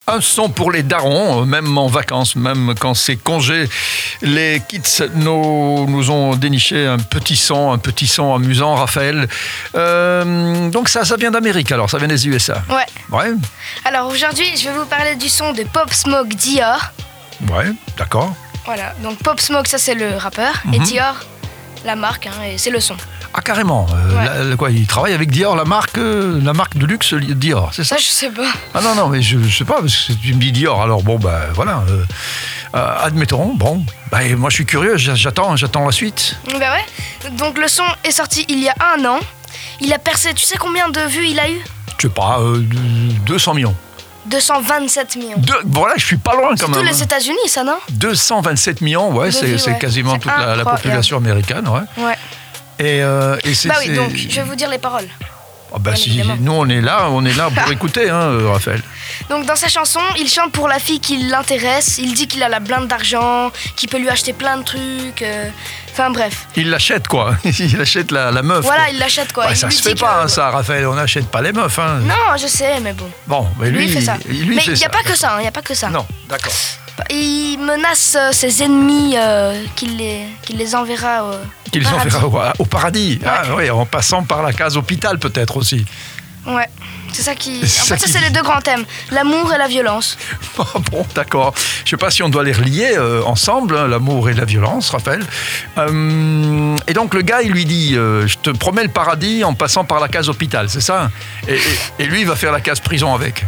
Un son pour les darons, même en vacances, même quand c'est congé. Les kids nous ont déniché un petit son amusant, Raphaël. Donc ça vient d'Amérique alors, ça vient des USA. Ouais. Alors aujourd'hui, je vais vous parler du son de Pop Smoke Dior. Ouais, d'accord. Voilà, donc Pop Smoke, ça c'est le rappeur, et Dior, la marque, et c'est le son. Ah carrément, il travaille avec Dior, la marque de luxe Dior, c'est ça? Ça je sais pas. Ah non, mais je sais pas, parce que tu me dis Dior, alors bon, voilà, admettons, bon, moi je suis curieux, j'attends la suite. Bah ouais, donc le son est sorti il y a 1 an, il a percé, tu sais combien de vues il a eu? Je sais pas, 200 millions. 227 millions. Voilà, je suis pas loin quand même. C'est tous les États-Unis, ça, non? 227 millions, c'est quasiment toute la population américaine, ouais. Et c'est. Bah oui, donc je vais vous dire les paroles. Nous on est là pour écouter, Raphaël. Donc dans sa chanson, il chante pour la fille qui l'intéresse. Il dit qu'il a la blinde d'argent, qu'il peut lui acheter plein de trucs. Enfin bref. Il l'achète quoi. Il achète la meuf. Voilà, quoi. Il l'achète quoi. Ça se fait pas ça, Raphaël. On n'achète pas les meufs. Non, je sais, mais bon. Bon, mais lui il fait ça. Mais il n'y a pas que ça. Il n'y a pas que ça. Non, d'accord. Il menace ses ennemis qu'il les enverra au paradis. Ouais. Ah, oui, en passant par la case hôpital peut-être aussi. Ouais, c'est ça qui... ça c'est les 2 grands thèmes, l'amour et la violence. Bon, d'accord. Je sais pas si on doit les relier ensemble, l'amour et la violence, Raphaël. Et donc le gars, il lui dit, je te promets le paradis en passant par la case hôpital, c'est ça? Et lui, il va faire la case prison avec.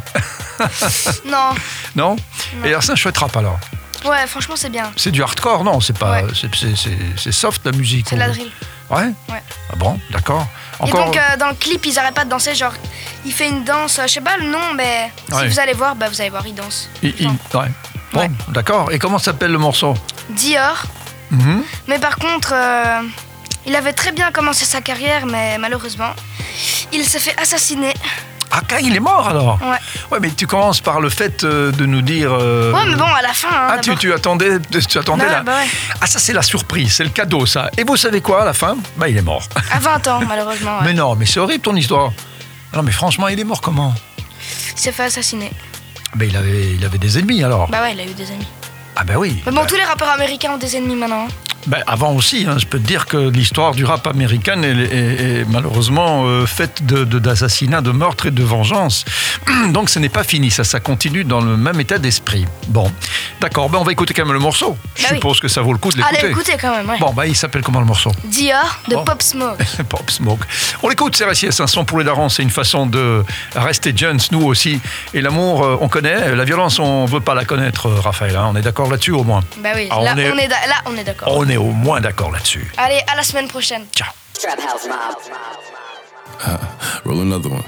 Non? Et alors c'est un chouette rap alors? Ouais, franchement c'est bien. C'est du hardcore, non? C'est pas, c'est soft la musique. C'est de la drill. Ouais. Ah bon, d'accord. Encore... Et donc dans le clip, ils arrêtent pas de danser, genre il fait une danse, je sais pas le nom, mais si vous allez voir, il danse. Bon, d'accord. Et comment s'appelle le morceau? Dior. Mais par contre, il avait très bien commencé sa carrière, mais malheureusement, il s'est fait assassiner. Ah, il est mort alors? Ouais, mais tu commences par le fait de nous dire... Ouais, mais bon, à la fin... tu attendais là? Ouais. Ah, ça c'est la surprise, c'est le cadeau ça. Et vous savez quoi à la fin? Il est mort. À 20 ans, malheureusement. Ouais. Mais non, mais c'est horrible ton histoire. Non, mais franchement, il est mort comment? Il s'est fait assassiner. Il avait des ennemis alors? Bah ouais, il a eu des ennemis. Ah oui. Mais bon, tous les rappeurs américains ont des ennemis maintenant. Avant aussi, je peux te dire que l'histoire du rap américain est malheureusement faite d'assassinats, de meurtres et de vengeance. Donc ce n'est pas fini, ça continue dans le même état d'esprit. Bon, d'accord, on va écouter quand même le morceau. Je suppose que ça vaut le coup de l'écouter. Allez, écoutez quand même, ouais. Bon, il s'appelle comment le morceau? Dior de Pop Smoke. Pop Smoke. On l'écoute, c'est RSIS, un son pour les darons, c'est une façon de rester jeunes, nous aussi. Et l'amour, on connaît, la violence, on ne veut pas la connaître, Raphaël, on est d'accord là-dessus au moins? Bah oui, là on est d'accord. On est au moins d'accord là-dessus. Allez, à la semaine prochaine. Ciao. Trap House Mob. Roll another one.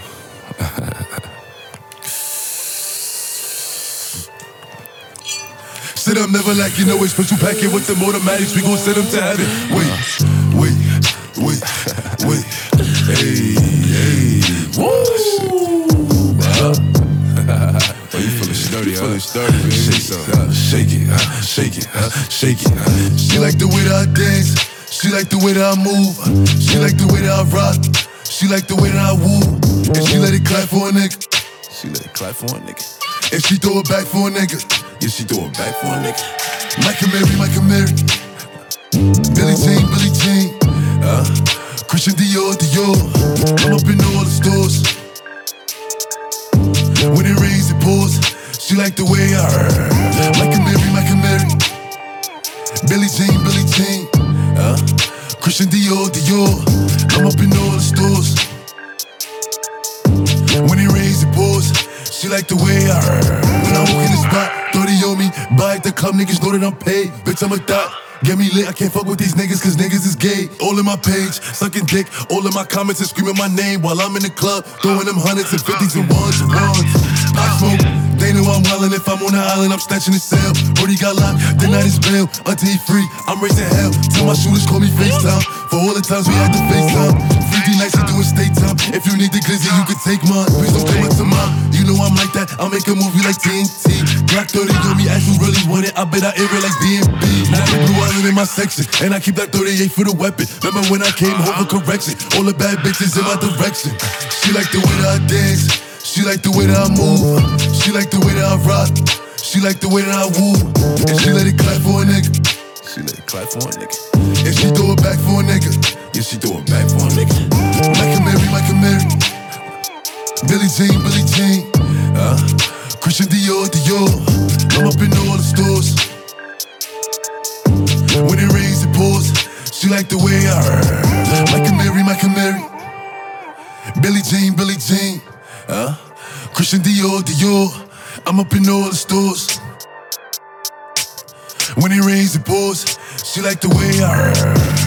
Sit up, never like you know it's special packet with them automatics. We gon' send them to heaven. Wait. Hey. Woo. You feeling sturdy, man. Shake it. She like the way that I dance. She like the way that I move. She like the way that I rock. She like the way that I woo. And she let it clap for a nigga. And she throw it back for a nigga. Yeah, she throw it back for a nigga. Micah Mary. Billie Jean. Christian Dior. I'm up in all the stores. When it rains, it pours. She like the way I Micah Mary. Billie Jean. Christian Dior. I'm up in all the stores. When it rains, it pours. She like the way I When I walk in the spot, 30 on me. Buy at the club, niggas know that I'm paid. Bitch, I'm a thot. Get me lit, I can't fuck with these niggas cause niggas is gay. All in my page, sucking dick. All in my comments and screaming my name while I'm in the club, throwing them hundreds and fifties and ones. I smoke, they know I'm wildin'. If I'm on the island, I'm snatching the cell. Brody got locked, the night is bail. Until he free, I'm raising hell. Till my shooters call me FaceTime. For all the times we had to FaceTime. 3D nights, we doing state time. If you need the glizzy, you can take mine. Please don't come up to mine. You know I'm like that, I'll make a movie like TNT. Black 30 on me, as you really want it. I bet I air it like DMB. Now the blue island in my section, and I keep that 38 for the weapon. Remember when I came home for correction? All the bad bitches in my direction. She like the way that I dance. She like the way that I move. She like the way that I rock. She like the way that I woo. And she let it clap for a nigga. She let it clap for a nigga. And she throw it back for a nigga. Yeah, she throw it back for a nigga. Michael Mary. Billie Jean. Christian Dior. I'm up in all the stores. When it rains, it pours. She like the way I Michael Mary. Billie Jean. Christian Dior. I'm up in all the stores. When it rains, it pours. She like the way I